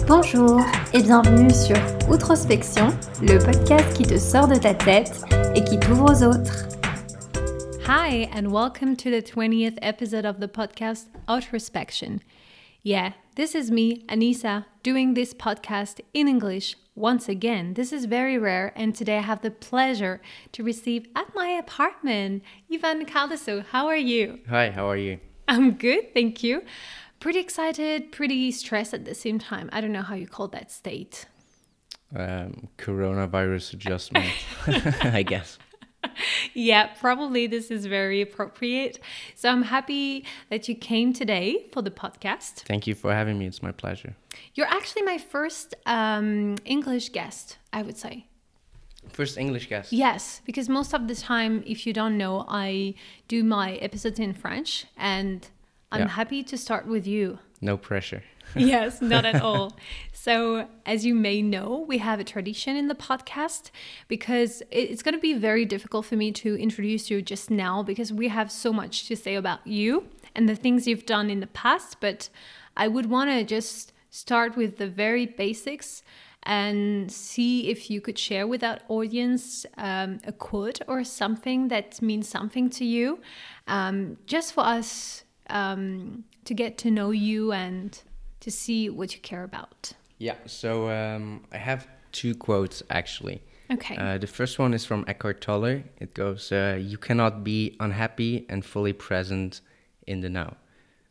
Bonjour et bienvenue sur Outrospection, le podcast qui te sort de ta tête et qui t'ouvre aux autres. Hi, and welcome to the 20th episode of the podcast Outrospection. Yeah, this is me, Anissa, doing this podcast in English once again. This is very rare, and today I have the pleasure to receive at my apartment Ivan Caldeso. How are you? Hi, how are you? I'm good, thank you. Pretty excited, pretty stressed at the same time. I don't know how you call that state. Coronavirus adjustment, I guess. Yeah, probably this is very appropriate. So I'm happy that you came today for the podcast. Thank you for having me. It's my pleasure. You're actually my first English guest, I would say. First English guest. Yes, because most of the time, if you don't know, I do my episodes in French, and I'm happy to start with you. No pressure. Yes, not at all. So, as you may know, we have a tradition in the podcast because it's going to be very difficult for me to introduce you just now because we have so much to say about you and the things you've done in the past. But I would want to just start with the very basics and see if you could share with our audience a quote or something that means something to you, just for us to get to know you and to see what you care about. Yeah, so I have two quotes actually. Okay. The first one is from Eckhart Tolle. It goes, you cannot be unhappy and fully present in the now.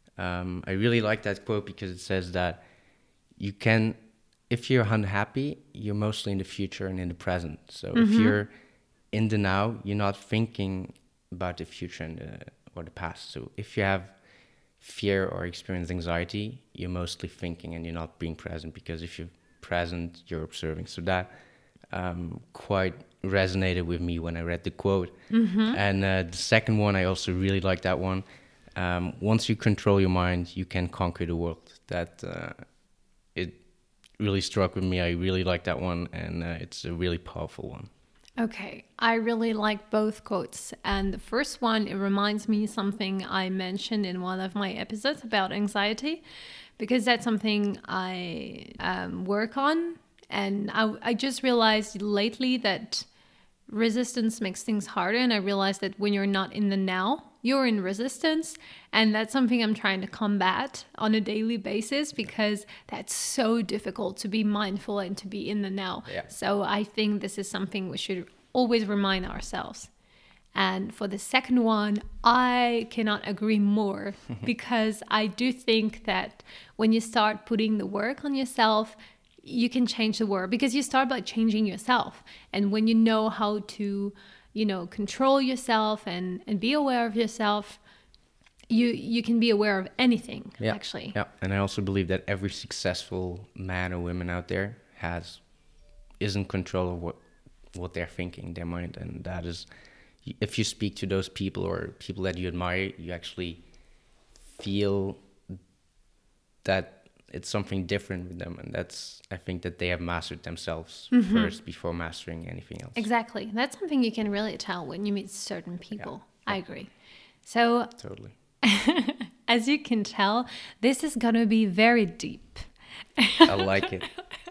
I really like that quote because it says that you can, if you're unhappy, you're mostly in the future and in the present. So if you're in the now, you're not thinking about the future and or the past. So if you have fear or experience anxiety, you're mostly thinking and you're not being present, because if you're present, you're observing. So that quite resonated with me when I read the quote. And the second one, I also really like that one. Once you control your mind, you can conquer the world. That it really struck with me. I really like that one, and it's a really powerful one. Okay, I really like both quotes. And the first one, it reminds me something I mentioned in one of my episodes about anxiety, because that's something I work on. And I just realized lately that resistance makes things harder. And I realized that when you're not in the now, you're in resistance. And that's something I'm trying to combat on a daily basis, because that's so difficult to be mindful and to be in the now. Yeah. So I think this is something we should always remind ourselves. And for the second one, I cannot agree more, because I do think that when you start putting the work on yourself, you can change the world, because you start by changing yourself. And when you know how to, control yourself and be aware of yourself, you can be aware of anything, actually. Yeah, and I also believe that every successful man or woman out there is in control of what they're thinking, their mind. And that is, if you speak to those people or people that you admire, you actually feel that it's something different with them. And I think that they have mastered themselves first before mastering anything else. Exactly. That's something you can really tell when you meet certain people. Yeah. I agree. So Totally. As you can tell, this is going to be very deep. I like it.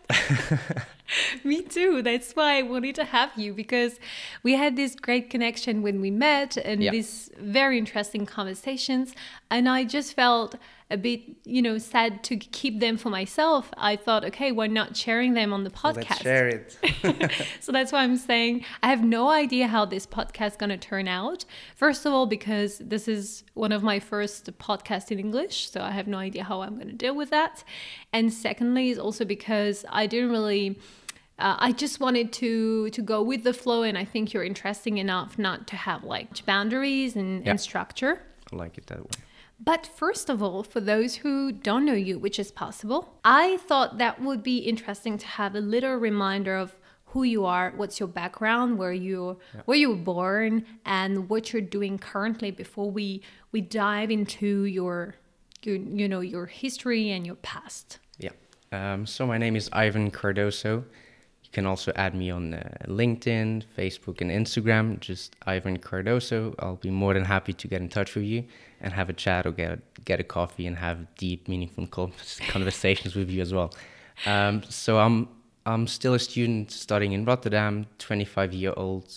Me too. That's why I wanted to have you, because we had this great connection when we met and these very interesting conversations. And I just felt a bit, sad to keep them for myself. I thought, okay, why not sharing them on the podcast? Let's share it. So that's why I'm saying I have no idea how this podcast is going to turn out. First of all, because this is one of my first podcasts in English, so I have no idea how I'm going to deal with that. And secondly, is also because I didn't really... I just wanted to go with the flow, and I think you're interesting enough not to have boundaries and structure. I like it that way. But first of all, for those who don't know you, which is possible, I thought that would be interesting to have a little reminder of who you are, what's your background, where you were born, and what you're doing currently before we dive into your history and your past. Yeah. So my name is Ivan Cardoso. You can also add me on LinkedIn, Facebook, and Instagram. Just Ivan Cardoso. I'll be more than happy to get in touch with you and have a chat or get a coffee and have deep, meaningful conversations with you as well. So I'm still a student studying in Rotterdam, 25-year-old,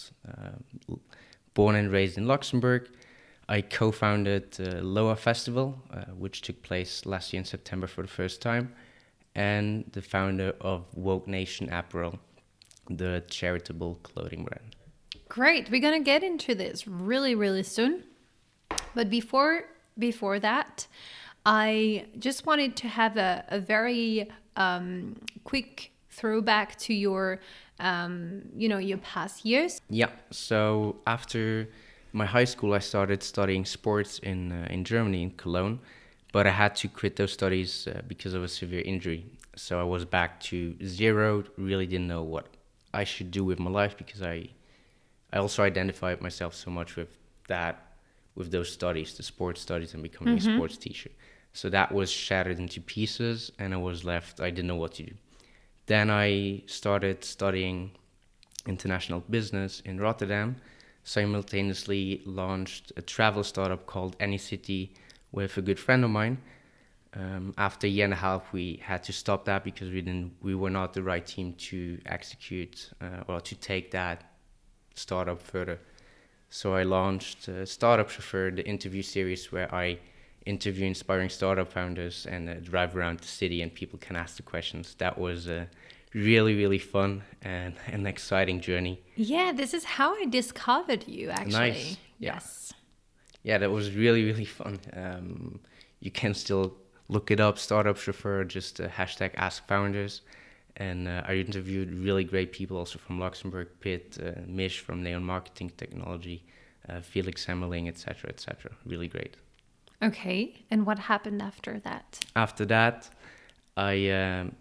born and raised in Luxembourg. I co-founded the Loa Festival, which took place last year in September for the first time, and the founder of Woke Nation Apparel, the charitable clothing brand. Great. We're going to get into this really, really soon. But before that, I just wanted to have a very quick throwback to your, your past years. Yeah. So after my high school, I started studying sports in Germany, in Cologne, but I had to quit those studies because of a severe injury. So I was back to zero. Really didn't know what I should do with my life because I also identified myself so much with those studies, the sports studies, and becoming a sports teacher. So that was shattered into pieces, and I was left. I didn't know what to do. Then I started studying international business in Rotterdam. Simultaneously launched a travel startup called AnyCity with a good friend of mine. After a year and a half, we had to stop that because we were not the right team to execute or to take that startup further. So I launched Startup Chauffeur, the interview series where I interview inspiring startup founders and drive around the city and people can ask the questions. That was really, really fun and an exciting journey. Yeah, this is how I discovered you, actually. Nice. Yeah. Yes. Yeah, that was really, really fun. You can still look it up, Startup Chauffeur, just hashtag Ask Founders. And I interviewed really great people also from Luxembourg, Pitt, Mish from Neon Marketing Technology, Felix Hemmeling, etc., etc. Really great. Okay, and what happened after that? After that, I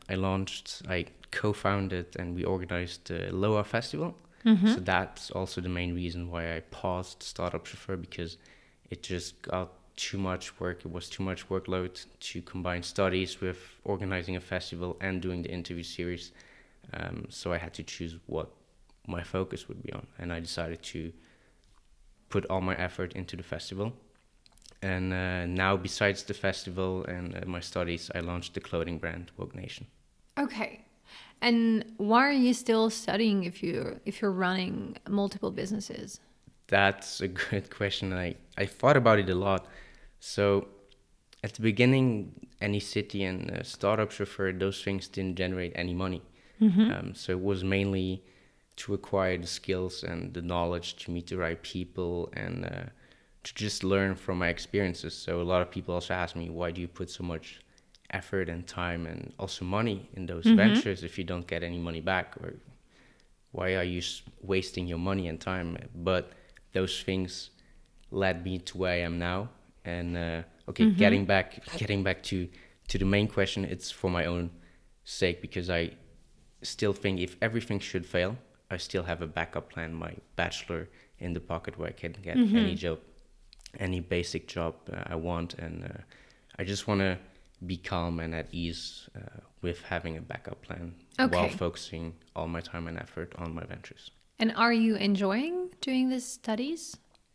co-founded and we organized the Loa Festival. So that's also the main reason why I paused Startup Chauffeur, because it just got too much work. It was too much workload to combine studies with organizing a festival and doing the interview series. So I had to choose what my focus would be on, and I decided to put all my effort into the festival. And now, besides the festival and my studies, I launched the clothing brand Woke Nation. Okay. And why are you still studying if you're running multiple businesses? That's a good question. I thought about it a lot. So at the beginning, AnyCity and Startup Chauffeur, those things didn't generate any money. So it was mainly to acquire the skills and the knowledge to meet the right people and to just learn from my experiences. So a lot of people also ask me, why do you put so much effort and time and also money in those ventures if you don't get any money back? Or why are you wasting your money and time? But those things led me to where I am now. And getting back to the main question, it's for my own sake, because I still think if everything should fail, I still have a backup plan, my bachelor in the pocket where I can get any job, any basic job I want. And I just want to be calm and at ease with having a backup plan while focusing all my time and effort on my ventures. And are you enjoying doing these studies?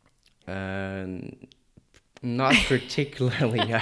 Not particularly.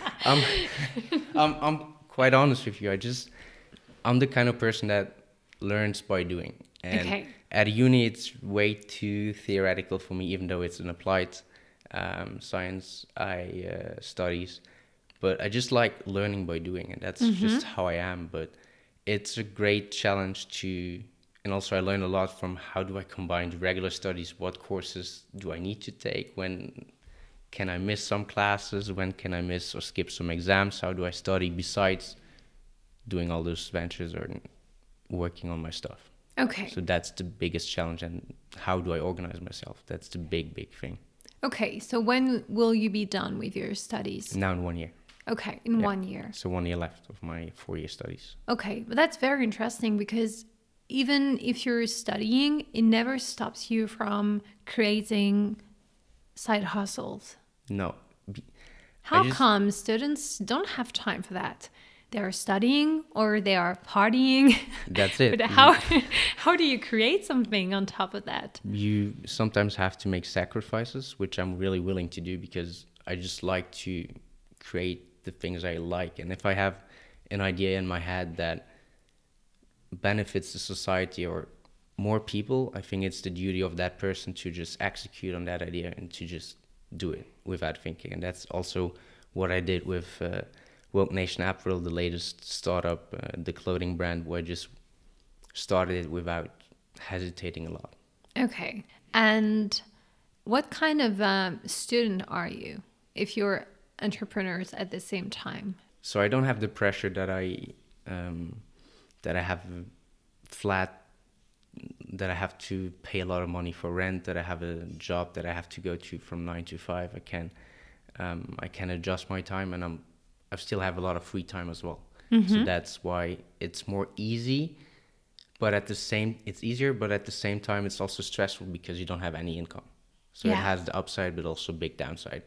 I'm quite honest with you. I'm the kind of person that learns by doing. And at uni, it's way too theoretical for me, even though it's an applied science studies. But I just like learning by doing, and that's just how I am. But it's a great challenge and also I learned a lot from how do I combine the regular studies, what courses do I need to take, when can I miss some classes, when can I miss or skip some exams, how do I study besides doing all those ventures or working on my stuff. Okay. So that's the biggest challenge, and how do I organize myself? That's the big thing. Okay, so when will you be done with your studies? Now in 1 year. Okay, in 1 year. So 1 year left of my 4-year studies. Okay, but that's very interesting, because even if you're studying, it never stops you from creating side hustles. No. How come students don't have time for that? They are studying or they are partying. That's it. But how do you create something on top of that? You sometimes have to make sacrifices, which I'm really willing to do, because I just like to create the things I like. And if I have an idea in my head that benefits the society or more people, I think it's the duty of that person to just execute on that idea and to just do it without thinking. And that's also what I did with Woke Nation Apparel, the latest startup, the clothing brand, where I just started it without hesitating a lot. Okay. And what kind of student are you if you're entrepreneurs at the same time? So I don't have the pressure that I have flat, that I have to pay a lot of money for rent, that I have a job that I have to go to from 9 to 5. I can adjust my time, and I still have a lot of free time as well. So that's why it's more easy, but it's easier, but at the same time it's also stressful because you don't have any income. So it has the upside, but also big downside.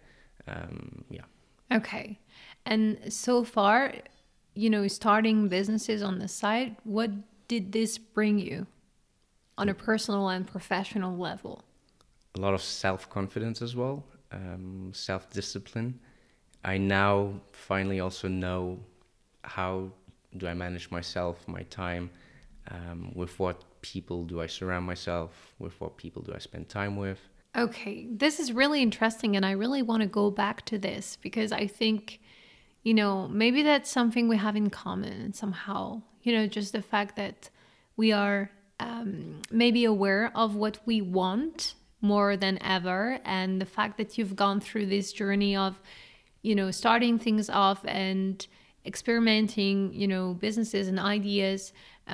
Okay. And so far, starting businesses on the side, what did this bring you on a personal and professional level? A lot of self-confidence as well, self-discipline. I now finally also know how do I manage myself, my time, with what people do I surround myself, with what people do I spend time with. Okay, this is really interesting, and I really want to go back to this because I think, maybe that's something we have in common somehow, just the fact that we are maybe aware of what we want more than ever, and the fact that you've gone through this journey of, starting things off and experimenting, businesses and ideas.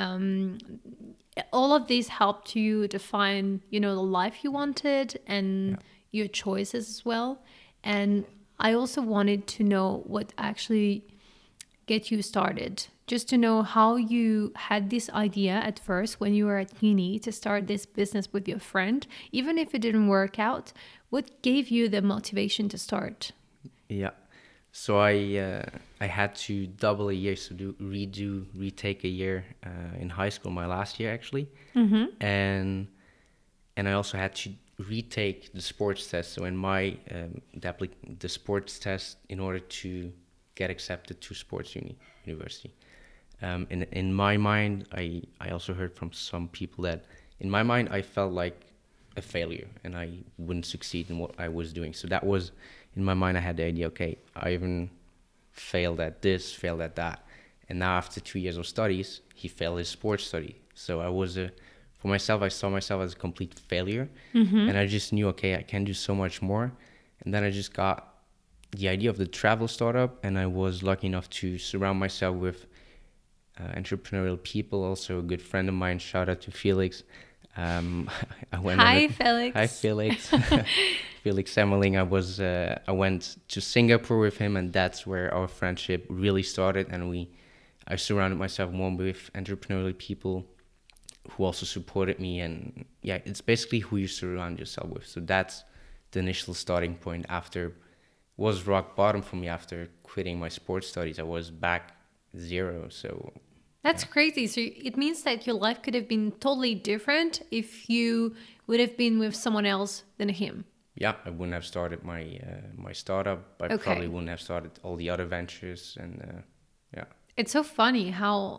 All of these helped you define, the life you wanted and your choices as well. And I also wanted to know what actually get you started, just to know how you had this idea at first when you were at uni to start this business with your friend, even if it didn't work out. What gave you the motivation to start? Yeah. So I had to double a year, so retake a year in high school, my last year actually, and I also had to retake the sports test. So in my the sports test in order to get accepted to sports university. In my mind, I also heard from some people that in my mind I felt like a failure and I wouldn't succeed in what I was doing. So that was, in my mind, I had the idea, okay, I even failed at this, failed at that. And now after 2 years of studies, he failed his sports study. So for myself, I saw myself as a complete failure. And I just knew, okay, I can do so much more. And then I just got the idea of the travel startup, and I was lucky enough to surround myself with entrepreneurial people. Also a good friend of mine, shout out to Felix. Hi, Felix. Hi, Felix. Felix Emmeling. I went to Singapore with him, and that's where our friendship really started. And I surrounded myself more with entrepreneurial people who also supported me. And yeah, it's basically who you surround yourself with. So that's the initial starting point. Was rock bottom for me after quitting my sports studies. I was back zero. So that's crazy. So it means that your life could have been totally different if you would have been with someone else than him. Yeah, I wouldn't have started my startup. I probably wouldn't have started all the other ventures. And it's so funny how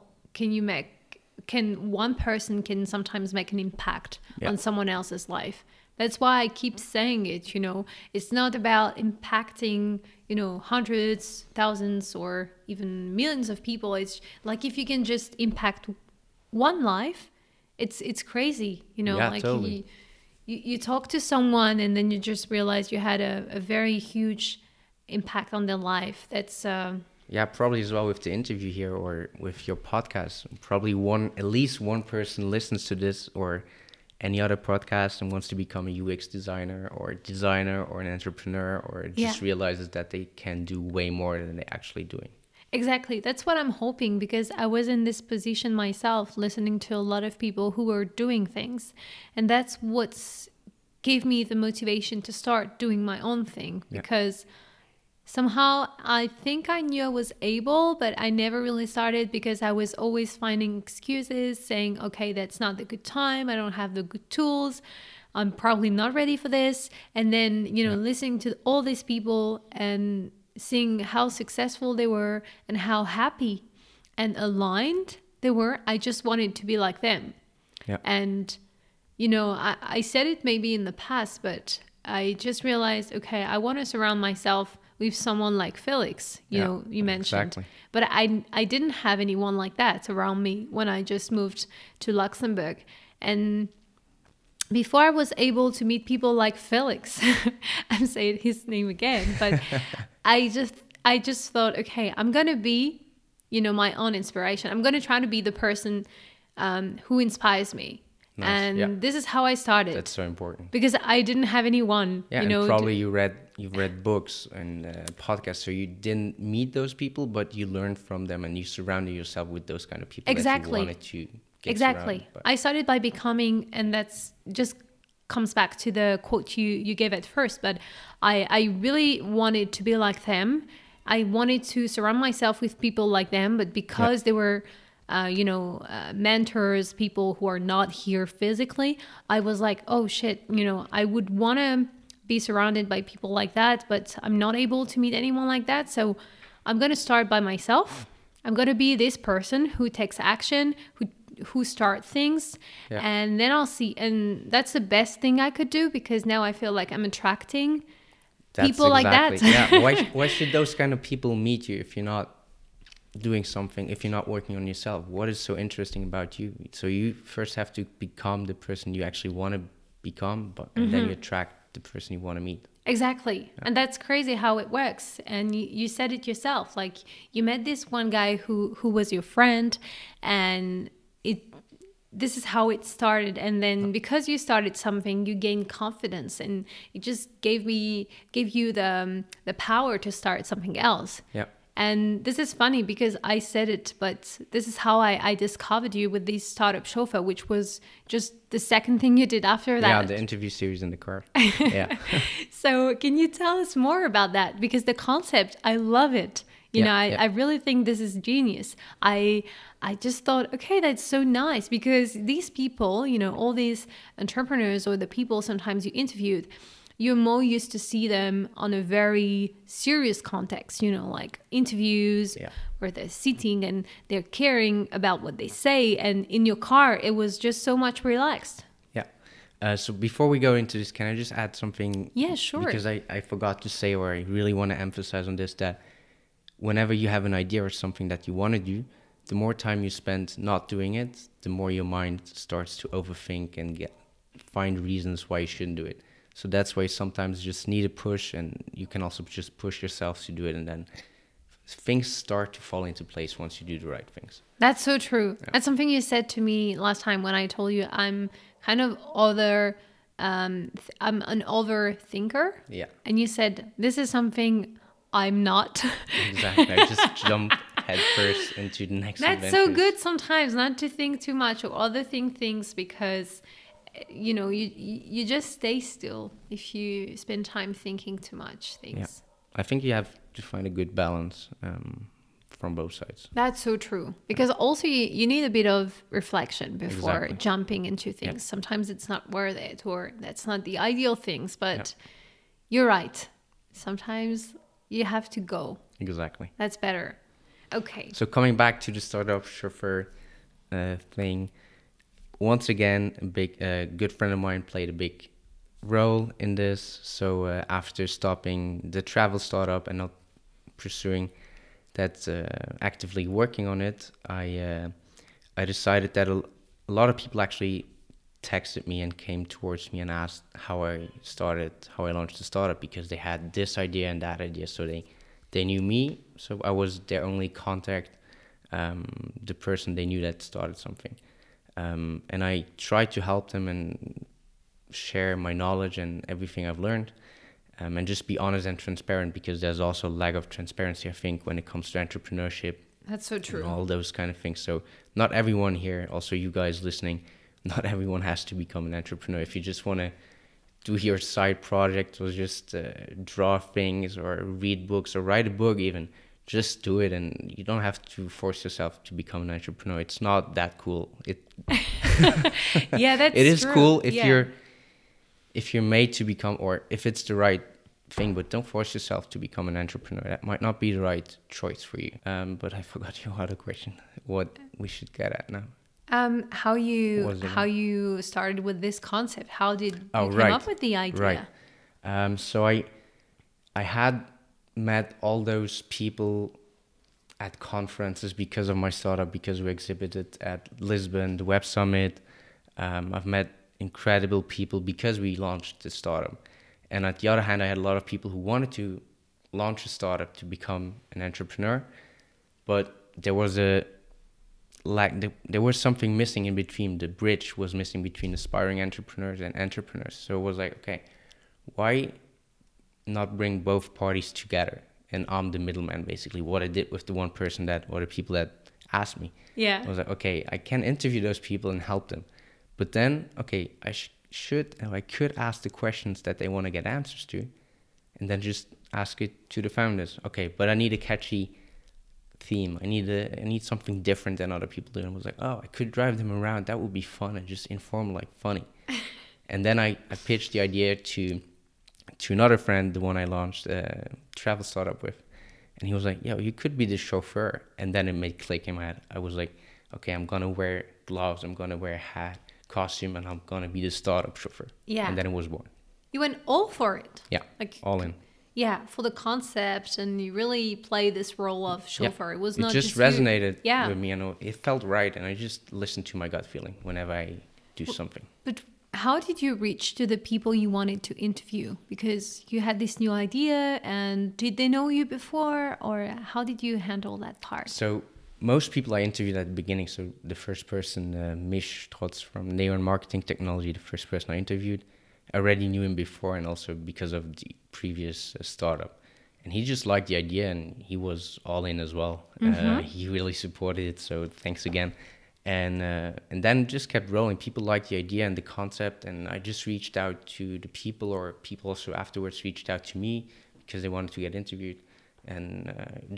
one person can sometimes make an impact on someone else's life. That's why I keep saying it, it's not about impacting, hundreds, thousands, or even millions of people. It's like if you can just impact one life, it's crazy, like totally. you talk to someone and then you just realize you had a very huge impact on their life. That's probably as well with the interview here or with your podcast. Probably at least one person listens to this or any other podcast and wants to become a UX designer or an entrepreneur or just realizes that they can do way more than they're actually doing. Exactly. That's what I'm hoping, because I was in this position myself, listening to a lot of people who were doing things. And that's what gave me the motivation to start doing my own thing, because somehow I think I knew I was able, but I never really started because I was always finding excuses saying, okay, that's not the good time. I don't have the good tools. I'm probably not ready for this. And then, listening to all these people and seeing how successful they were and how happy and aligned they were. I just wanted to be like them. Yeah. And, you know, I said it maybe in the past, but I just realized, okay, I want to surround myself with someone like Felix, you know, you mentioned. Exactly. But I didn't have anyone like that around me when I just moved to Luxembourg. And before I was able to meet people like Felix, I'm saying his name again, but I just thought, okay, I'm going to be, you know, my own inspiration. I'm going to try to be the person who inspires me. Nice. And this is how I started. That's so important. Because I didn't have anyone, Yeah, you know. and probably you've read books and podcasts, so you didn't meet those people, but you learned from them, and you surrounded yourself with those kind of people Exactly. that you wanted to get Exactly. surrounded by. I started by becoming, and that's just comes back to the quote you gave at first, but I really wanted to be like them. I wanted to surround myself with people like them, but because they were mentors, people who are not here physically, I was like, oh shit, you know, I would want to be surrounded by people like that, but I'm not able to meet anyone like that. So I'm going to start by myself. I'm going to be this person who takes action, who start things, and then I'll see. And that's the best thing I could do, because now I feel like I'm attracting people like that. Yeah. Why should those kind of people meet you if you're not doing something, if you're not working on yourself? What is so interesting about you? So you first have to become the person you actually want to become, and then you attract the person you want to meet. Exactly. Yeah. And that's crazy how it works. And you said it yourself, like you met this one guy who was your friend, and this is how it started. And then because you started something, you gained confidence, and it just gave you the power to start something else. Yeah. And this is funny because I said it, but this is how I discovered you with the Startup Chauffeur, which was just the second thing you did after that. Yeah, the interview series in the car. Yeah. So can you tell us more about that? Because the concept, I love it. I really think this is genius. I just thought, okay, that's so nice, because these people, you know, all these entrepreneurs or the people sometimes you interviewed, you're more used to see them on a very serious context, you know, like interviews where they're sitting and they're caring about what they say. And in your car, it was just so much relaxed. Yeah. So before we go into this, can I just add something? Yeah, sure. Because I forgot to say, or I really want to emphasize on this, that whenever you have an idea or something that you want to do, the more time you spend not doing it, the more your mind starts to overthink and find reasons why you shouldn't do it. So that's why sometimes you just need a push, and you can also just push yourself to do it, and then things start to fall into place once you do the right things. That's so true. Yeah. That's something you said to me last time when I told you I'm kind of I'm an overthinker. Yeah. And you said, this is something I'm not. Exactly. I just jump head first into the next That's adventures. so good sometimes not to think too much or overthink things, because you know, you just stay still if you spend time thinking too much things. Yeah. I think you have to find a good balance from both sides. That's so true. Because also you need a bit of reflection before jumping into things. Yeah. Sometimes it's not worth it, or that's not the ideal things, but you're right. Sometimes you have to go. Exactly. That's better. Okay. So coming back to the Startup Chauffeur thing, once again, a good friend of mine played a big role in this. So after stopping the travel startup and not pursuing that, actively working on it, I decided that a lot of people actually texted me and came towards me and asked how I launched the startup, because they had this idea and that idea. So they knew me. So I was their only contact, the person they knew that started something. And I tried to help them and share my knowledge and everything I've learned, and just be honest and transparent, because there's also a lack of transparency, I think, when it comes to entrepreneurship. That's so true. And all those kind of things. So not everyone here, also you guys listening, not everyone has to become an entrepreneur. If you just want to do your side project or just draw things or read books or write a book even, just do it, and you don't have to force yourself to become an entrepreneur. It's not that cool. Yeah, that's it is true. Cool if you're made to become, or if it's the right thing, but don't force yourself to become an entrepreneur. That might not be the right choice for you. But I forgot your other question. What we should get at now? How Was it- you started with this concept? How did you come right. up with the idea? Right. So I had met all those people at conferences because of my startup, because we exhibited at Lisbon, the Web Summit. I've met incredible people because we launched the startup. And at the other hand, I had a lot of people who wanted to launch a startup to become an entrepreneur, but there was a there was something missing in between. The bridge was missing between aspiring entrepreneurs and entrepreneurs. So it was like, okay, why not bring both parties together? And I'm the middleman, basically. What I did with the one person or the people that asked me. Yeah. I was like, okay, I can interview those people and help them. But then, okay, I could ask the questions that they want to get answers to, and then just ask it to the founders. Okay, but I need a catchy theme. I need something different than other people do. And I was like, oh, I could drive them around. That would be fun and just informal, like funny. And then I pitched the idea to another friend, the one I launched a travel startup with. And he was like, yo, you could be the chauffeur. And then it made click in my head. I was like, okay, I'm going to wear gloves. I'm going to wear a hat, costume, and I'm going to be the startup chauffeur. Yeah. And then it was born. You went all for it. Yeah, Like all in. Yeah, for the concept, and you really play this role of chauffeur. Yeah. It was it not just you. resonated Yeah. with me. And it felt right. And I just listened to my gut feeling whenever I do something. But how did you reach to the people you wanted to interview? Because you had this new idea, and did they know you before, or how did you handle that part? So most people I interviewed at the beginning, so the first person, Mish Trotz from Neon Marketing Technology, the first person I interviewed, I already knew him before, and also because of the previous startup. And he just liked the idea, and he was all in as well. He really supported it, so thanks again. And then just kept rolling. People liked the idea and the concept, and I just reached out to the people, or people also afterwards reached out to me because they wanted to get interviewed. And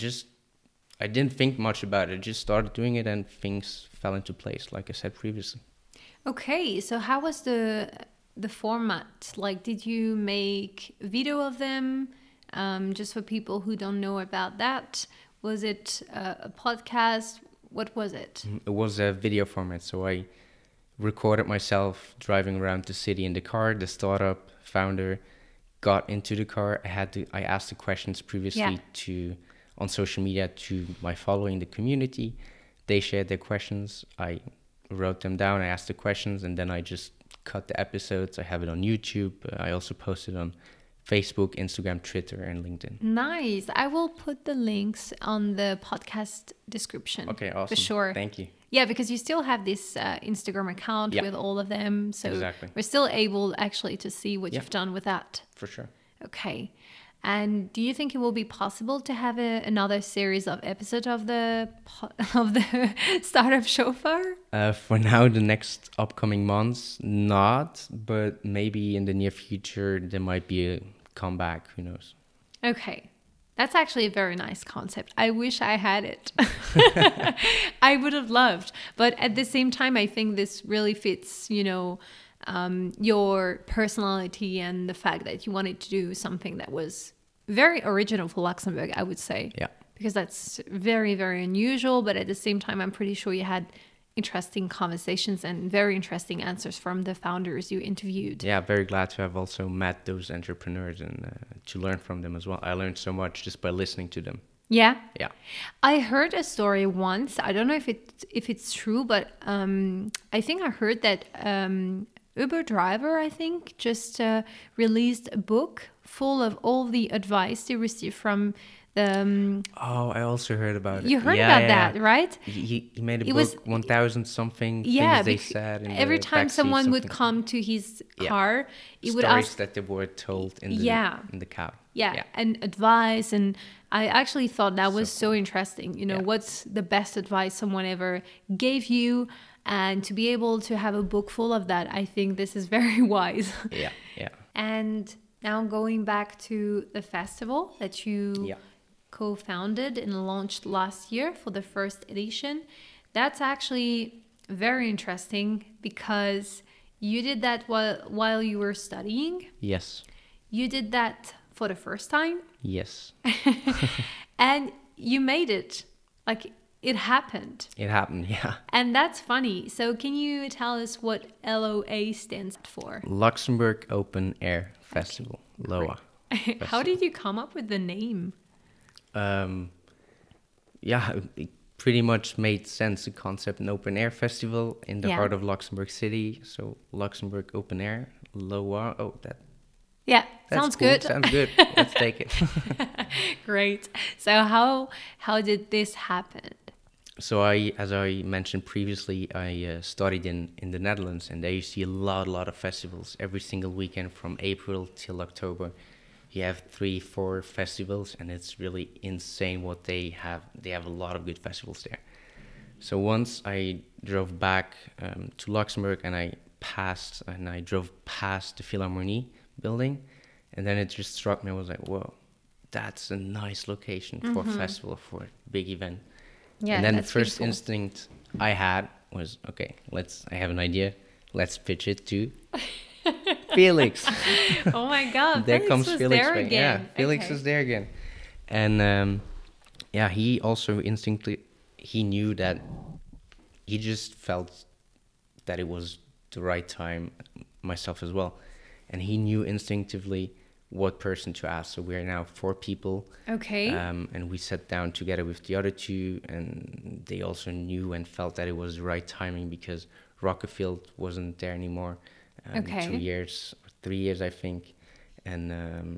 I didn't think much about it. I just started doing it, and things fell into place, like I said previously. Okay, so how was the format? Like, did you make video of them? Just for people who don't know about that, was it a podcast? What was it? It was a video format, so I recorded myself driving around the city in the car. The startup founder got into the car. I asked the questions previously on social media to my following, the community. They shared their questions. I wrote them down. I asked the questions, and then I just cut the episodes. I have it on YouTube. I also posted on Facebook, Instagram, Twitter, and LinkedIn. Nice. I will put the links on the podcast description. Okay, awesome. For sure. Thank you. Yeah, because you still have this Instagram account with all of them. So Exactly. we're still able actually to see what you've done with that. For sure. Okay. And do you think it will be possible to have another series of episodes of the Startup Chauffeur? For now, the next upcoming months, not. But maybe in the near future, there might be a comeback. Who knows? Okay. That's actually a very nice concept. I wish I had it. I would have loved. But at the same time, I think this really fits, your personality and the fact that you wanted to do something that was very original for Luxembourg, I would say. Yeah. Because that's very, very unusual. But at the same time, I'm pretty sure you had interesting conversations and very interesting answers from the founders you interviewed. Yeah, very glad to have also met those entrepreneurs and to learn from them as well. I learned so much just by listening to them. Yeah. Yeah. I heard a story once. I don't know if it's true, but I think I heard that Uber driver, I think, just released a book full of all the advice they received from the... Oh, I also heard about it. You heard about that, right? He made a book, 1,000 something Yeah, things they said. In every the time backseat, someone would something. come to his car, he would Stories ask... that they were told in the cab. Yeah, and advice. And I actually thought that was so interesting. What's the best advice someone ever gave you? And to be able to have a book full of that, I think this is very wise. Yeah. And now going back to the festival that you co-founded and launched last year for the first edition, that's actually very interesting because you did that while you were studying. Yes. You did that for the first time. Yes. And you made it. Like, it happened. It happened, yeah. And that's funny. So can you tell us what LOA stands for? Luxembourg Open Air Festival, LOA. How did you come up with the name? Yeah, it pretty much made sense. The concept, an open air festival in the heart of Luxembourg City. So Luxembourg Open Air, LOA. Oh, that's sounds cool. good. Sounds good. Let's take it. Great. So how did this happen? So as I mentioned previously, I studied in the Netherlands, and there you see a lot of festivals every single weekend from April till October. You have 3-4 festivals, and it's really insane what they have. They have a lot of good festivals there. So once I drove back to Luxembourg, and I drove past the Philharmonie building, and then it just struck me. I was like, whoa, that's a nice location for a festival, for a big event. Yeah, and then the that's first beautiful. instinct I had was, okay, I have an idea. Let's pitch it to Felix. Oh my God. There Felix comes was Felix there back. again. Yeah, Felix Okay. is there again. And he also instinctively, he knew that, he just felt that it was the right time, myself as well. And he knew instinctively what person to ask. So we're now 4 people. Okay. And we sat down together with the other 2, and they also knew and felt that it was the right timing because Rockefield wasn't there anymore. 2 years, 3 years, I think. And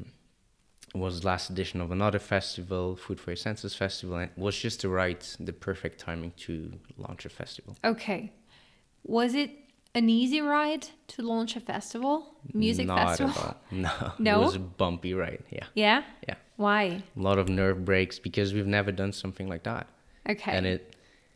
it was the last edition of another festival, Food for Your Senses Festival, and it was just the perfect timing to launch a festival. Okay. Was it an easy ride to launch a festival? Music festival? Not at all. No. No? It was a bumpy ride, yeah. Yeah? Yeah. Why? A lot of nerve breaks because we've never done something like that. Okay. And it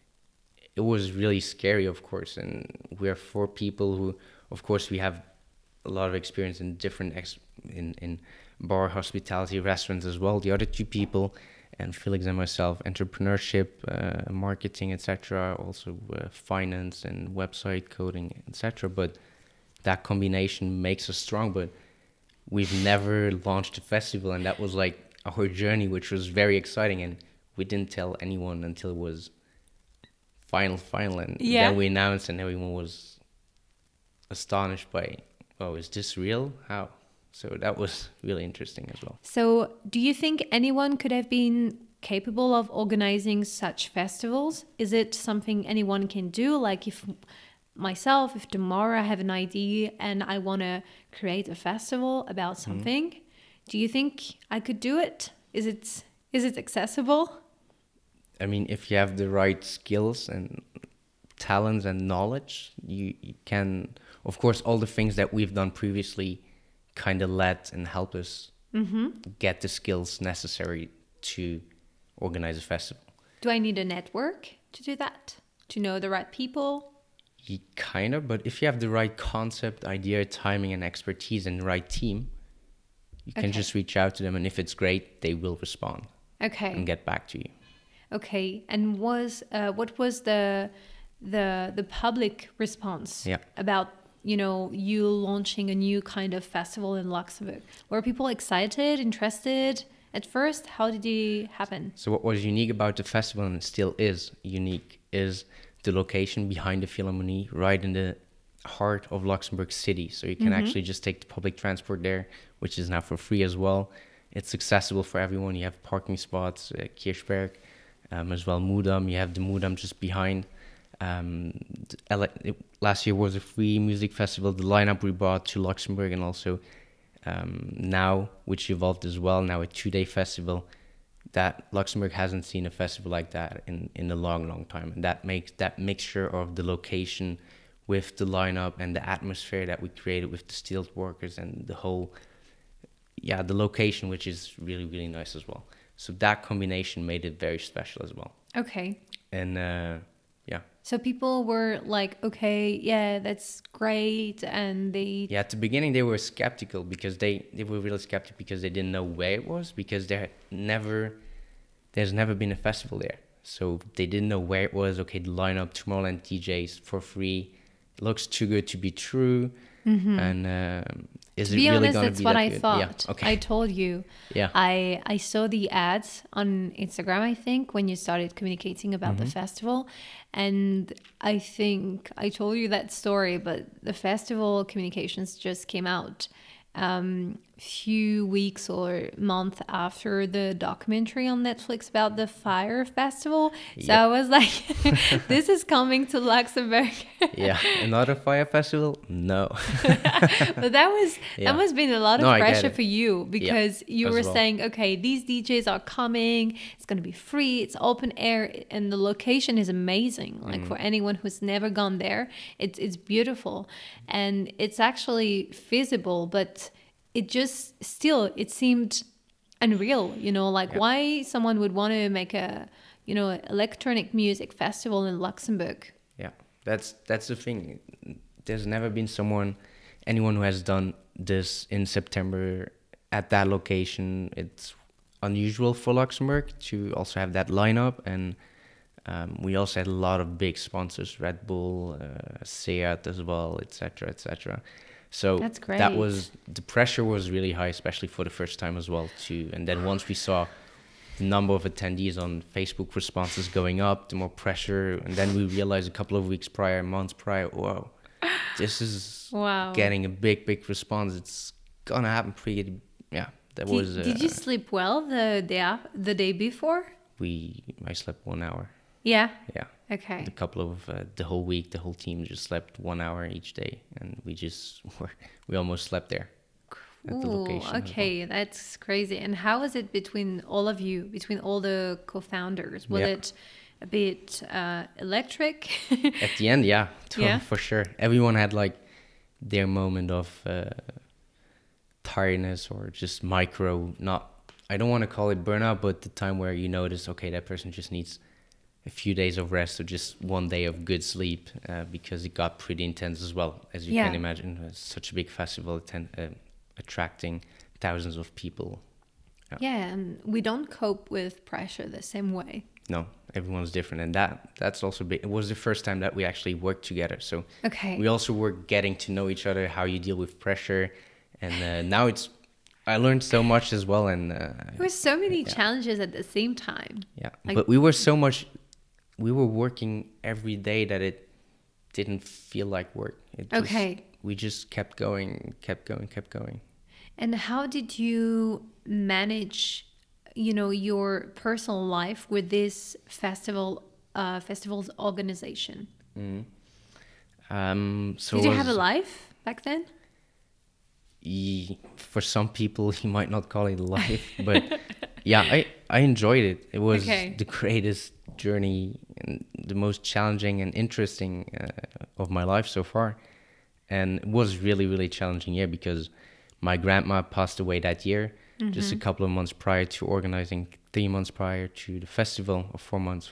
was really scary, of course. And we're 4 people who, of course, we have a lot of experience in different in bar, hospitality, restaurants as well. The other 2 people, and Felix and myself, entrepreneurship, marketing, etc. Also finance and website coding, etc. But that combination makes us strong. But we've never launched a festival, and that was like our journey, which was very exciting. And we didn't tell anyone until it was final, and then we announced, and everyone was astonished by, oh, is this real? How? So that was really interesting as well. So, do you think anyone could have been capable of organizing such festivals? Is it something anyone can do? Like if tomorrow I have an idea and I want to create a festival about something, do you think I could do it? Is it accessible? I mean, if you have the right skills and talents and knowledge, you can, of course, all the things that we've done previously kind of let and help us get the skills necessary to organize a festival. Do I need a network to do that? To know the right people? Kind of, but if you have the right concept, idea, timing, and expertise, and the right team, you can just reach out to them, and if it's great, they will respond. Okay. And get back to you. Okay. And what was the public response about you launching a new kind of festival in Luxembourg? Were people excited, interested at first? How did it happen? So what was unique about the festival, and still is unique, is the location behind the Philharmonie, right in the heart of Luxembourg City. So you can actually just take the public transport there, which is now for free as well. It's accessible for everyone. You have parking spots, Kirchberg, as well Moedam. You have the Moedam just behind. Last year was a free music festival. The lineup we brought to Luxembourg, and also now, which evolved as well, now a 2-day festival. That Luxembourg hasn't seen a festival like that in a long time. And that makes that mixture of the location with the lineup and the atmosphere that we created with the steel workers and the whole, the location, which is really, really nice as well. So that combination made it very special as well. Okay. And so people were like, okay, yeah, that's great. And they... Yeah, at the beginning they were skeptical because they were really skeptical because they didn't know where it was, because there's never been a festival there. So they didn't know where it was. Okay, the lineup, Tomorrowland DJs for free. It looks too good to be true. And is To it be really honest, going to that's be what that I good? thought. Yeah. Okay. I told you. Yeah. I saw the ads on Instagram, I think, when you started communicating about the festival. And I think I told you that story, but the festival communications just came out few weeks or month after the documentary on Netflix about the fire festival. So Yep. I was like, this is coming to Luxembourg. Yeah. Another fire festival? No. But that Yeah. must have been a lot of No, I get pressure it. for you because you as were well. saying, okay, these DJs are coming, it's going to be free, it's open air, and the location is amazing. Like for anyone who's never gone there, it's beautiful and it's actually feasible, but it just still it seemed unreal, like Yeah. why someone would want to make a electronic music festival in Luxembourg. Yeah, that's the thing. There's never been anyone who has done this in September at that location. It's unusual for Luxembourg to also have that lineup, and we also had a lot of big sponsors, Red Bull, Seat as well, etc., etc. So That's great. The pressure was really high, especially for the first time as well too. And then once we saw the number of attendees on Facebook responses going up, the more pressure. And then we realized a couple of months prior, whoa, this is Wow. getting a big response. It's gonna happen pretty. Yeah, Did you sleep well the day before? I slept 1 hour. Yeah. Yeah. Okay. The whole week, the whole team just slept 1 hour each day, and we almost slept there at the Ooh, location. as well. okay, that's crazy. And how was it between all of you, between all the co-founders? Was Yeah. it a bit electric? At the end, yeah, Yeah. for sure. Everyone had like their moment of tiredness or just I don't want to call it burnout, but the time where you notice, okay, that person just needs a few days of rest or just 1 day of good sleep because it got pretty intense as well, as you Yeah. can imagine. It's such a big festival attracting thousands of people. Yeah, and we don't cope with pressure the same way. No, everyone's different, and that's also big. It was the first time that we actually worked together, so Okay. we also were getting to know each other, how you deal with pressure, and now I learned so much as well, and There were so many challenges at the same time. yeah, Like- but we were working every day that it didn't feel like work. We just kept going. And how did you manage, your personal life with this festival's organization? So Did you have a life back then? For some people, you might not call it a life, but yeah, I enjoyed it. It was Okay. the greatest journey and the most challenging and interesting of my life so far. And it was really, really challenging year because my grandma passed away that year, just a couple of months prior to organizing, 3 months prior to the festival, or 4 months.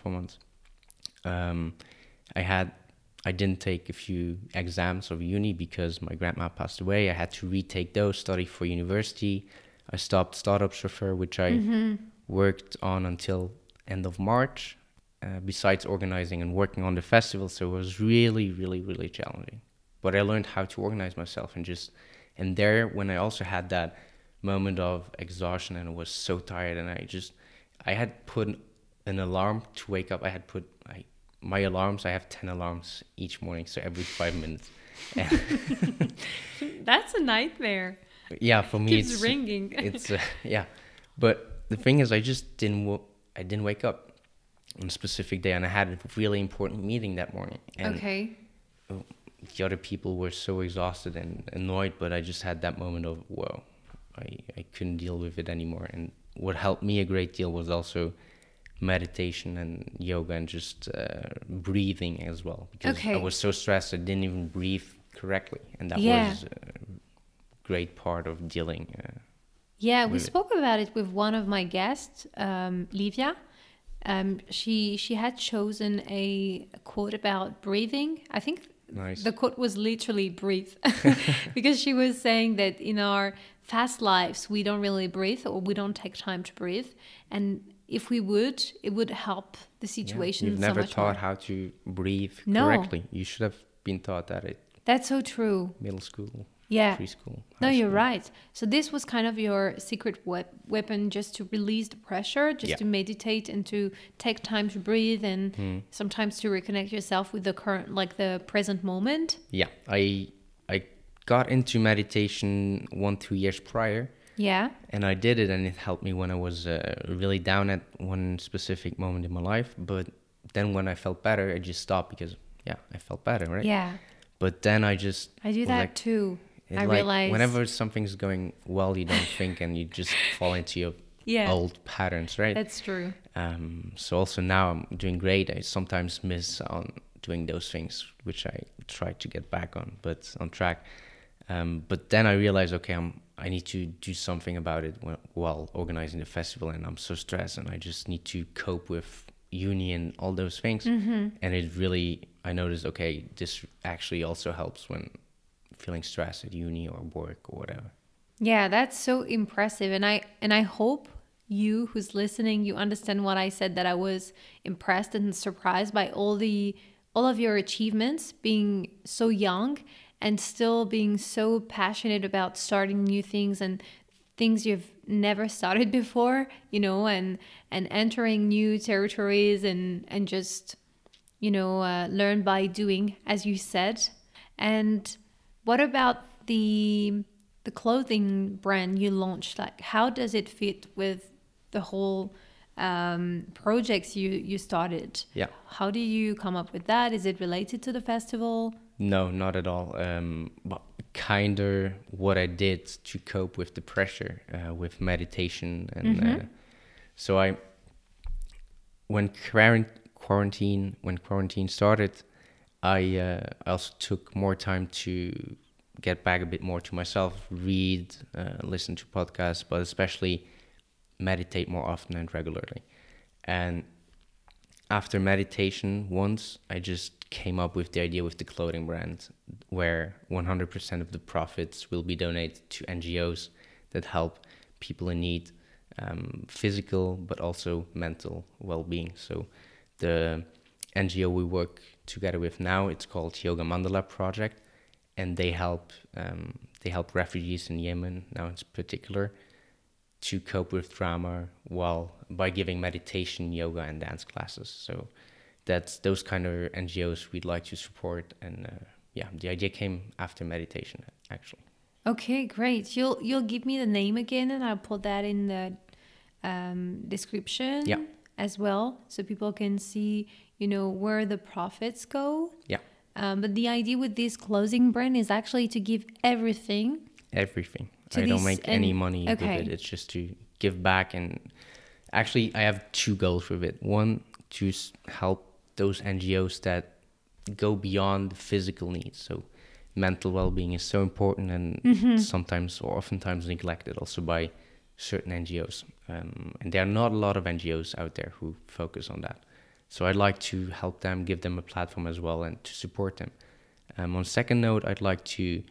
I didn't take a few exams of uni because my grandma passed away. I had to retake those, study for university. I stopped Startup Chauffeur, which I worked on until end of March, besides organizing and working on the festival. So it was really, really, really challenging. But I learned how to organize myself and there, when I also had that moment of exhaustion and I was so tired and I had put an alarm to wake up. My alarms, I have 10 alarms each morning, so every 5 minutes. That's a nightmare. Yeah, for me Keeps ringing. It's yeah, but the thing is, I didn't wake up on a specific day, and I had a really important meeting that morning. And Okay. the other people were so exhausted and annoyed, but I just had that moment of, whoa, I couldn't deal with it anymore. And what helped me a great deal was also meditation and yoga and just breathing as well, because Okay. I was so stressed I didn't even breathe correctly, and that Yeah. was a great part of dealing. Yeah, we with it. spoke about it with one of my guests, Livia. She had chosen a quote about breathing. I think Nice. the quote was literally breathe, because she was saying that in our fast lives we don't really breathe, or we don't take time to breathe, and if we would, it would help the situation You've so never much taught more. how to breathe No. correctly. You should have been taught that at That's so true. middle school. Yeah. preschool. No, high you're school. right. So this was kind of your secret weapon, just to release the pressure, just Yeah. to meditate and to take time to breathe, and sometimes to reconnect yourself with the current, like the present moment. Yeah, I got into meditation 1-2 years prior, Yeah. and I did it, and it helped me when I was really down at one specific moment in my life. But then when I felt better, I just stopped because I felt better, right? Yeah. But then I just I do was that like, too. I like, realize whenever something's going well, you don't think, and you just fall into your Yeah. old patterns, right? That's true. So also now I'm doing great. I sometimes miss on doing those things, which I try to get back on track. But then I realized, okay, I need to do something about it while organizing the festival, and I'm so stressed, and I just need to cope with uni and all those things. And it really, I noticed, okay, this actually also helps when feeling stressed at uni or work or whatever. Yeah, that's so impressive, and I hope you who's listening, you understand what I said, that I was impressed and surprised by all of your achievements, being so young and still being so passionate about starting new things and things you've never started before, and entering new territories and just learn by doing, as you said. And what about the clothing brand you launched? Like, how does it fit with the whole projects you started? Yeah. How do you come up with that? Is it related to the festival? No, not at all. But kind of what I did to cope with the pressure with meditation, and so when quarantine started, I also took more time to get back a bit more to myself, read, listen to podcasts, but especially meditate more often and regularly. And after meditation once, I just came up with the idea with the clothing brand, where 100% of the profits will be donated to NGOs that help people in need, physical but also mental well-being. So the NGO we work together with now, it's called Yoga Mandala Project, and they help refugees in Yemen now in particular to cope with trauma by giving meditation, yoga, and dance classes. So that's those kind of NGOs we'd like to support, and the idea came after meditation, actually. Okay, great. You'll give me the name again, and I'll put that in the description as well, so people can see where the profits go. Yeah. But the idea with this clothing brand is actually to give everything. I don't make any money with it. It's just to give back. And actually, I have two goals with it. One, to help those NGOs that go beyond physical needs. So mental well-being is so important, and sometimes or oftentimes neglected also by certain NGOs. And there are not a lot of NGOs out there who focus on that. So I'd like to help them, give them a platform as well, and to support them. On second note, I'd like to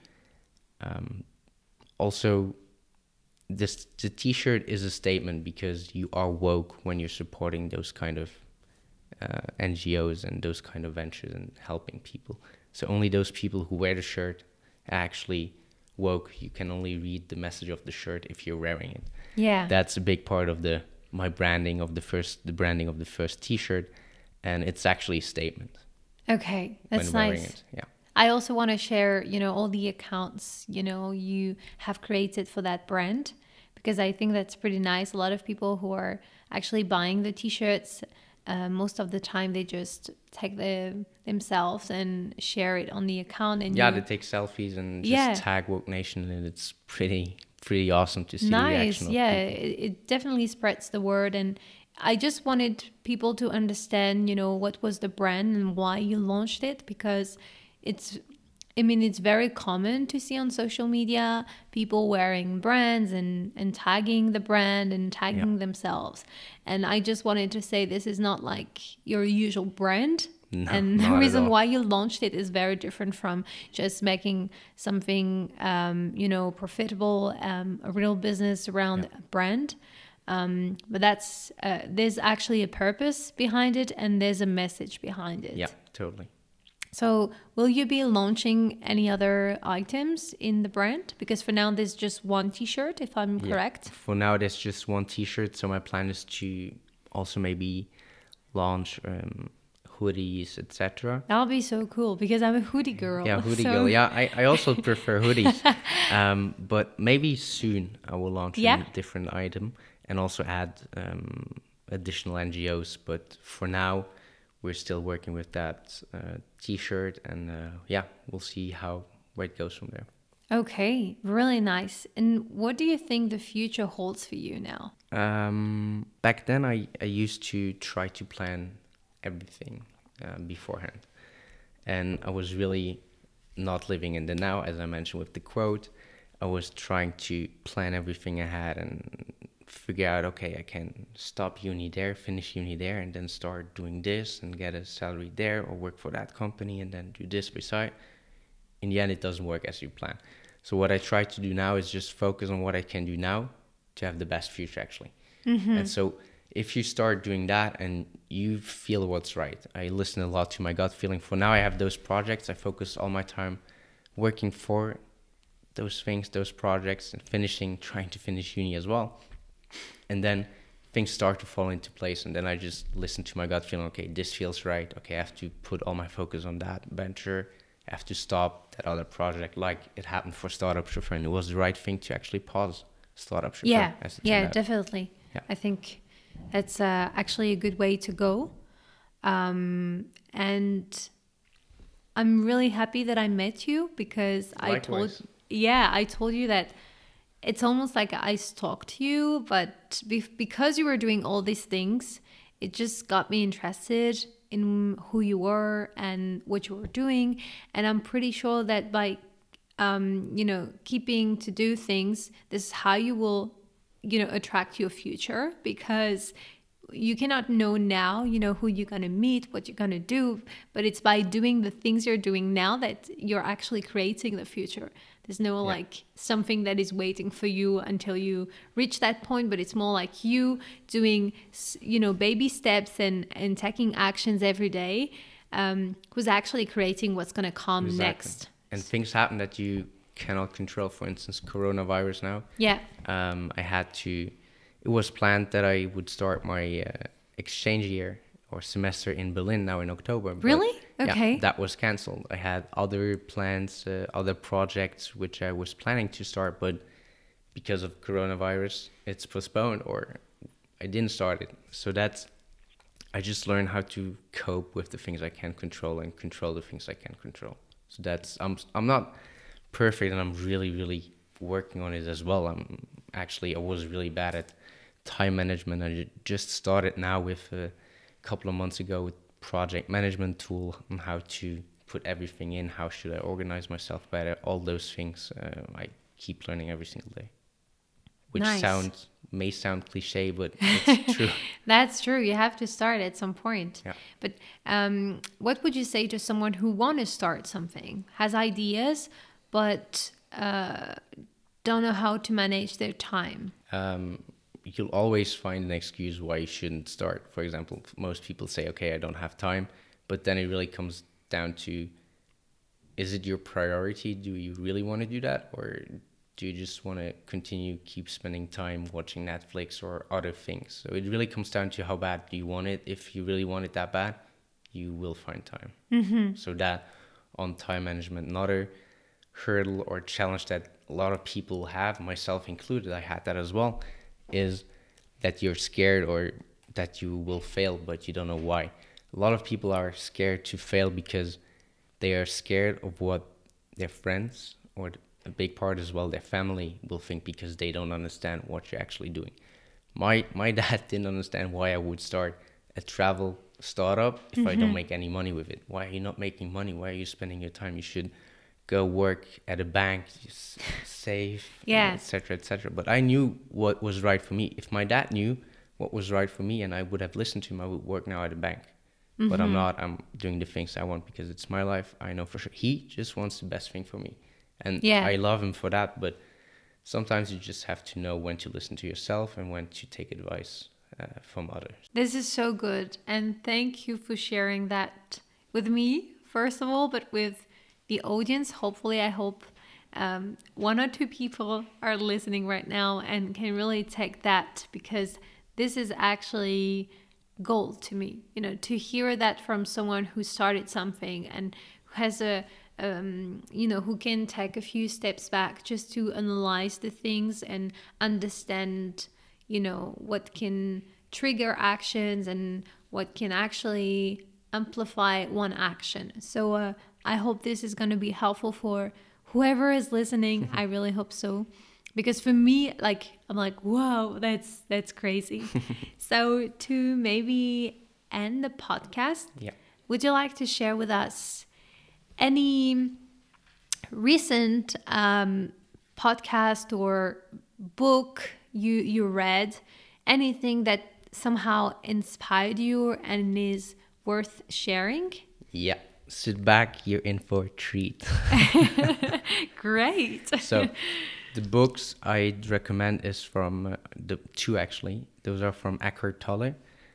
also, the t-shirt is a statement, because you are woke when you're supporting those kind of NGOs and those kind of ventures and helping people. So only those people who wear the shirt are actually woke. You can only read the message of the shirt if you're wearing it. Yeah. That's a big part of the branding of the first t-shirt. And it's actually a statement. Okay, that's when wearing nice. It. Yeah. I also want to share, all the accounts, you have created for that brand, because I think that's pretty nice. A lot of people who are actually buying the t-shirts, most of the time they just take themselves and share it on the account. And they take selfies and just tag Woke Nation, and it's pretty awesome to see the reaction of people. It definitely spreads the word. And I just wanted people to understand, what was the brand and why you launched it, because it's very common to see on social media people wearing brands and tagging the brand and tagging themselves. And I just wanted to say this is not like your usual brand. No, and the not at reason all. why you launched it is very different from just making something, profitable, a real business around a brand. But that's there's actually a purpose behind it, and there's a message behind it. Yeah, totally. So will you be launching any other items in the brand? Because for now there's just one t-shirt, if I'm correct. For now, there's just one t-shirt. So my plan is to also maybe launch hoodies, etc. That'll be so cool because I'm a hoodie girl. Yeah, hoodie so... girl. Yeah, I also prefer hoodies. But maybe soon I will launch a different item and also add additional NGOs. But for now, we're still working with that t-shirt, and we'll see where it goes from there. Okay, really nice. And what do you think the future holds for you now? Back then, I used to try to plan everything beforehand, and I was really not living in the now. As I mentioned with the quote, I was trying to plan everything ahead and figure out, okay, I can stop uni there, finish uni there, and then start doing this and get a salary there, or work for that company and then do this beside. In the end, it doesn't work as you plan. So what I try to do now is just focus on what I can do now to have the best future, actually. And so if you start doing that and you feel what's right, I listen a lot to my gut feeling. For now, I have those projects. I focus all my time working for those things, those projects, and trying to finish uni as well. And then things start to fall into place, and then I just listen to my gut feeling. Okay, this feels right. Okay, I have to put all my focus on that venture. I have to stop that other project, like it happened for Startup Chauffeur, and it was the right thing to actually pause Startup Chauffeur. Yeah, definitely. Yeah. I think that's actually a good way to go. And I'm really happy that I met you, because Likewise. I told you that it's almost like I stalked you, but because you were doing all these things, it just got me interested in who you were and what you were doing. And I'm pretty sure that by, keeping to do things, this is how you will, attract your future, because you cannot know now, who you're going to meet, what you're going to do, but it's by doing the things you're doing now that you're actually creating the future. There's no like something that is waiting for you until you reach that point, but it's more like you doing, baby steps and taking actions every day, who's actually creating what's going to come next. And things happen that you cannot control. For instance, coronavirus now. Yeah. It was planned that I would start my exchange year or semester in Berlin now in October. Really? Okay. Yeah, that was cancelled. I had other plans, other projects which I was planning to start, but because of coronavirus, it's postponed, or I didn't start it. So I just learned how to cope with the things I can control and control the things I can control. So I'm not perfect, and I'm really, really working on it as well. I was really bad at time management. I just started now with a couple of months ago with project management tool on how to put everything in, how should I organize myself better, all those things. I keep learning every single day, which may sound cliche, but it's true. That's true. You have to start at some point. Yeah. But what would you say to someone who wants to start something, has ideas, but don't know how to manage their time? You'll always find an excuse why you shouldn't start. For example, most people say, okay, I don't have time. But then it really comes down to, is it your priority? Do you really want to do that? Or do you just want to keep spending time watching Netflix or other things? So it really comes down to how bad do you want it. If you really want it that bad, you will find time. Mm-hmm. So that on time management, another hurdle or challenge that a lot of people have, myself included, I had that as well, is that you're scared or that you will fail, but you don't know why. A lot of people are scared to fail because they are scared of what their friends, or a big part as well, their family will think, because they don't understand what you're actually doing. My dad didn't understand why I would start a travel startup if I don't make any money with it. Why are you not making money? Why are you spending your time? You should go work at a bank, save, etc., etc. But I knew what was right for me. If my dad knew what was right for me and I would have listened to him, I would work now at a bank. Mm-hmm. But I'm not. I'm doing the things I want because it's my life. I know for sure. He just wants the best thing for me. And I love him for that. But sometimes you just have to know when to listen to yourself and when to take advice from others. This is so good. And thank you for sharing that with me first of all, but with the audience. Hopefully, I hope one or two people are listening right now and can really take that, because this is actually gold to me, you know, to hear that from someone who started something and who has who can take a few steps back just to analyze the things and understand, what can trigger actions and what can actually amplify one action. So I hope this is going to be helpful for whoever is listening. I really hope so. Because for me, I'm like, whoa, that's crazy. So to maybe end the podcast, would you like to share with us any recent podcast or book you read, anything that somehow inspired you and is worth sharing? Yeah. Sit back, you're in for a treat. Great. So the books I'd recommend is from the two, actually. Those are from Eckhart Tolle.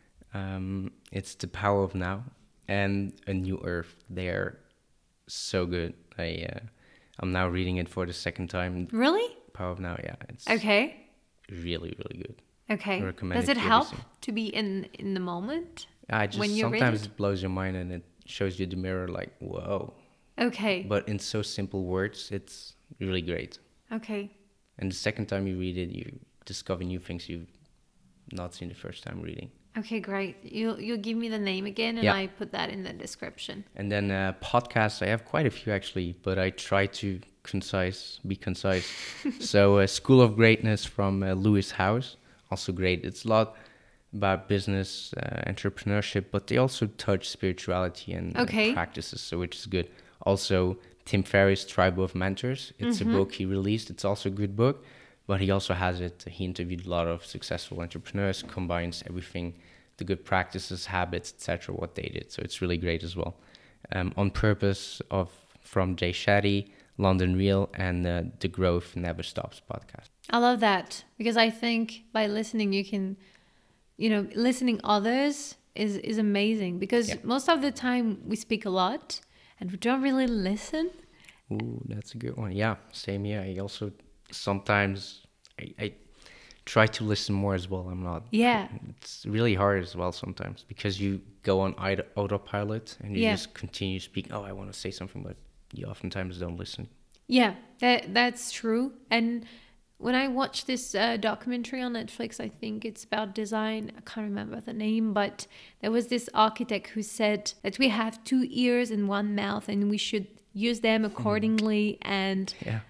It's The Power of Now and A New Earth. They're so good. I'm now reading it for the second time. Really? Power of Now, yeah. It's okay. Really, really good. Okay. I recommend Does it help to be in the moment? When you sometimes it blows your mind and it shows you the mirror like, whoa. Okay. But in so simple words, it's really great. Okay. And the second time you read it, you discover new things you've not seen the first time reading. Okay, great. You'll give me the name again, and I put that in the description. And then podcasts, I have quite a few actually, but I try to be concise. So School of Greatness from Lewis Howes, also great. It's a lot about business, entrepreneurship, but they also touch spirituality and practices, so which is good. Also, Tim Ferriss' Tribe of Mentors. It's a book he released. It's also a good book, but he also has it. He interviewed a lot of successful entrepreneurs, combines everything, the good practices, habits, etc., what they did. So it's really great as well. On Purpose from Jay Shetty, London Real, and The Growth Never Stops podcast. I love that, because I think by listening you can, listening others is amazing, because most of the time we speak a lot and we don't really listen. Ooh, that's a good one. Yeah, same here. I also sometimes I try to listen more as well. I'm not. Yeah. It's really hard as well sometimes, because you go on autopilot and you just continue speaking. Oh, I want to say something, but you oftentimes don't listen. Yeah, that's true. And when I watched this documentary on Netflix, I think it's about design. I can't remember the name, but there was this architect who said that we have 2 ears and 1 mouth and we should use them accordingly. And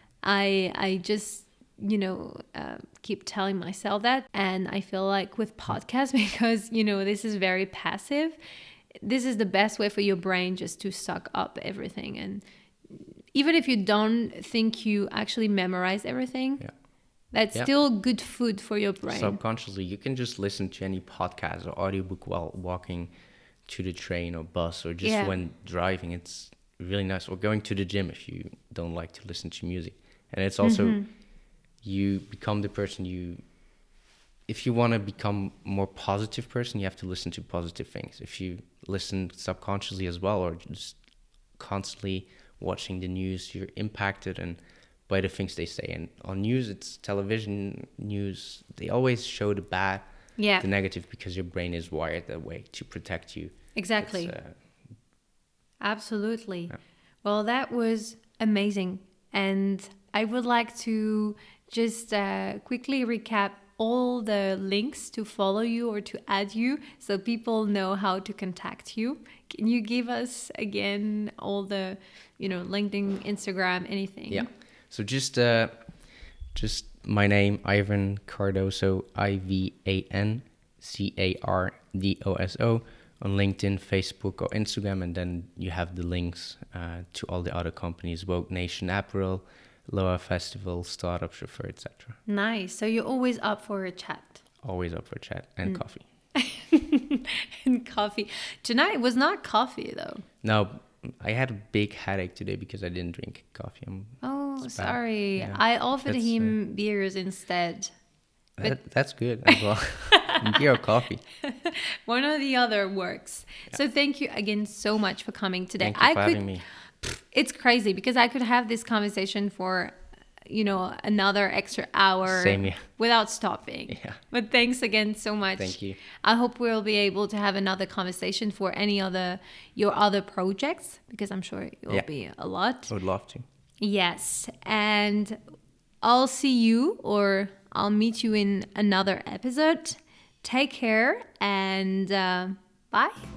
I just, keep telling myself that. And I feel like with podcasts, because, this is very passive, this is the best way for your brain just to suck up everything. And even if you don't think you actually memorize everything, that's still good food for your brain. Subconsciously, you can just listen to any podcast or audiobook while walking to the train or bus, or just when driving. It's really nice. Or going to the gym if you don't like to listen to music. And it's also, you become the person if you want to become a more positive person, you have to listen to positive things. If you listen subconsciously as well, or just constantly watching the news, you're impacted by the things they say. And on news, it's television news, they always show the bad, the negative, because your brain is wired that way to protect you. Exactly. Absolutely. Yeah. Well, that was amazing. And I would like to just quickly recap all the links to follow you or to add you, so people know how to contact you. Can you give us again all the, LinkedIn, Instagram, anything? Yeah. So just my name, Ivan Cardoso, IvanCardoso, on LinkedIn, Facebook, or Instagram, and then you have the links to all the other companies: Woke Nation, Apparel, Loa Festival, Startup Chauffeur, etc. Nice. So you're always up for a chat. Always up for a chat and coffee. And coffee. Tonight was not coffee though. No, I had a big headache today because I didn't drink coffee. Sorry. Yeah. I offered him beers instead. That's good as well. Beer or coffee. One or the other works. Yeah. So thank you again so much for coming today. Thank you for having me. It's crazy because I could have this conversation for, another extra hour. Same here. Without stopping. Yeah. But thanks again so much. Thank you. I hope we'll be able to have another conversation for your other projects, because I'm sure it will be a lot. I would love to. Yes. And I'll see you, or I'll meet you in another episode. Take care and bye.